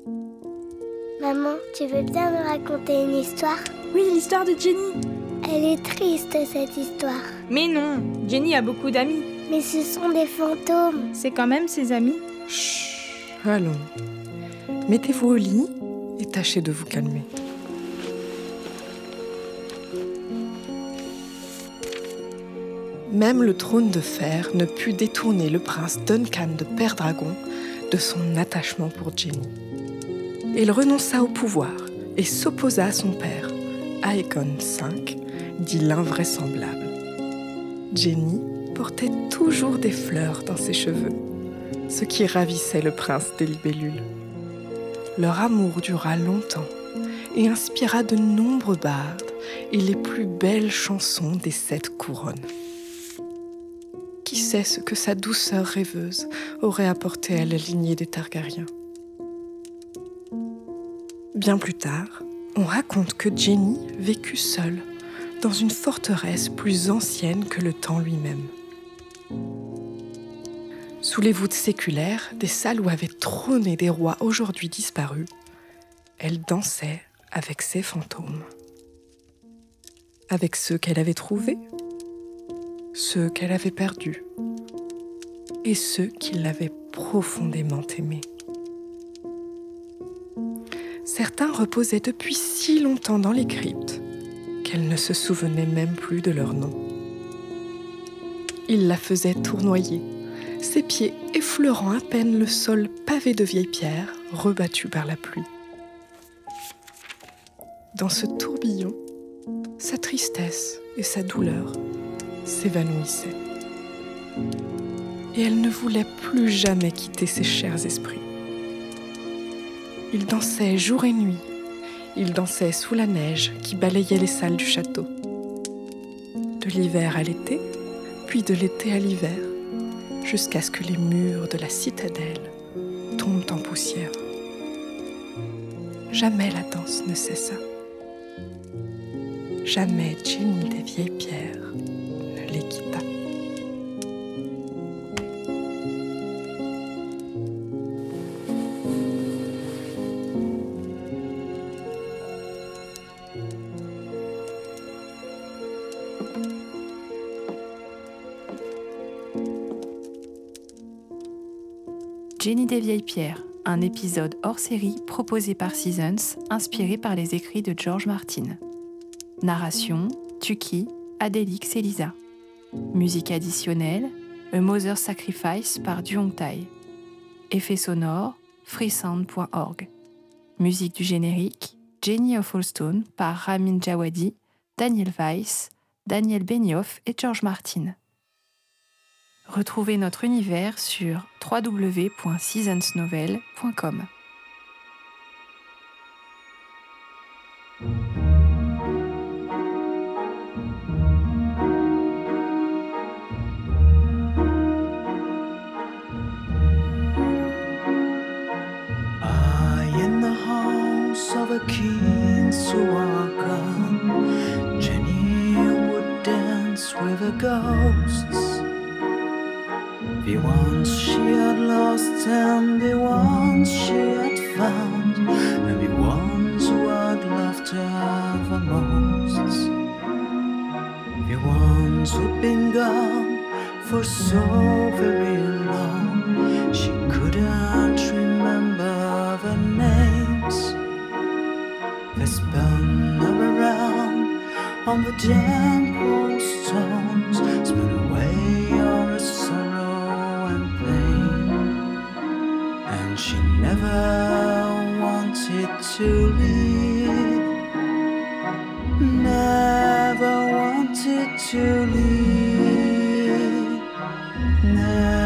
Maman, tu veux bien me raconter une histoire ? Oui, l'histoire de Jenny. Elle est triste, cette histoire. Mais non, Jenny a beaucoup d'amis. Mais ce sont des fantômes. C'est quand même ses amis. Chut, allons. Mettez-vous au lit et tâchez de vous calmer. Même le trône de fer ne put détourner le prince Duncan de Père-Dragon de son attachement pour Jenny. Il renonça au pouvoir et s'opposa à son père, Aegon V, dit l'invraisemblable. Jenny portait toujours des fleurs dans ses cheveux, ce qui ravissait le prince des libellules. Leur amour dura longtemps et inspira de nombreux bardes et les plus belles chansons des 7 couronnes. Qui sait ce que sa douceur rêveuse aurait apporté à la lignée des Targaryens ? Bien plus tard, on raconte que Jenny vécut seule dans une forteresse plus ancienne que le temps lui-même. Sous les voûtes séculaires des salles où avaient trôné des rois aujourd'hui disparus, elle dansait avec ses fantômes. Avec ceux qu'elle avait trouvés, ceux qu'elle avait perdus et ceux qui l'avaient profondément aimée. Certains reposaient depuis si longtemps dans les cryptes qu'elle ne se souvenait même plus de leur nom. Ils la faisaient tournoyer, ses pieds effleurant à peine le sol pavé de vieilles pierres rebattues par la pluie. Dans ce tourbillon, sa tristesse et sa douleur s'évanouissaient. Et elle ne voulait plus jamais quitter ses chers esprits. Ils dansaient jour et nuit. Ils dansaient sous la neige qui balayait les salles du château. De l'hiver à l'été, puis de l'été à l'hiver, jusqu'à ce que les murs de la citadelle tombent en poussière. Jamais la danse ne cessa. Jamais Jenny des vieilles pierres ne les quitta. Jenny des vieilles pierres, un épisode hors série proposé par Seasons, inspiré par les écrits de George Martin. Narration, Tuki, Adélix et Lisa. Musique additionnelle, A Mother's Sacrifice par Duong Tai. Effets sonores, freesound.org. Musique du générique, Jenny of Allstone par Ramin Djawadi, Daniel Weiss, Daniel Benioff et George Martin. Retrouvez notre univers sur www.seasonsnovel.com. In the house of a king so welcome, Jenny would dance with the ghosts. The ones she had lost and the ones she had found, and the ones who had loved her the most. The ones who'd been gone for so very long, she couldn't remember the names. They spun her around on the damp old stones, spun away all her sorrow and pain. And she never wanted to leave, never wanted to leave, never